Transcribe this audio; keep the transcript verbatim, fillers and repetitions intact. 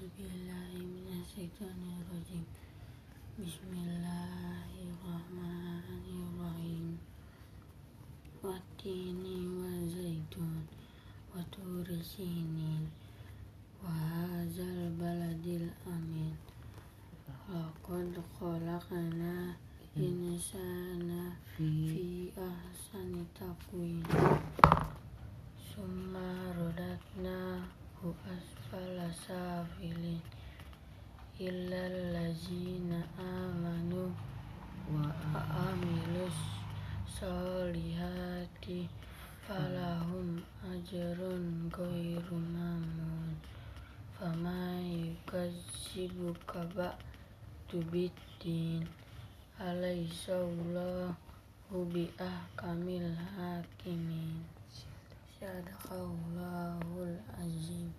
billahi minasyaitonir rajim. Bismillahirrahmanirrahim. Wattini wa zaitun wa turi sinin wa hadzal baladil amin. Laqad khalaqna insana fi ahsani taqwim. Summa radadnahu asfala safilin illal ladzina amanu wa amilus solihati falahum ajrun ghairu mamnun. Faman yukazzibuka ba'du biddin alaysallahu bi ahkamil hakimin. Sadaqallahul azim.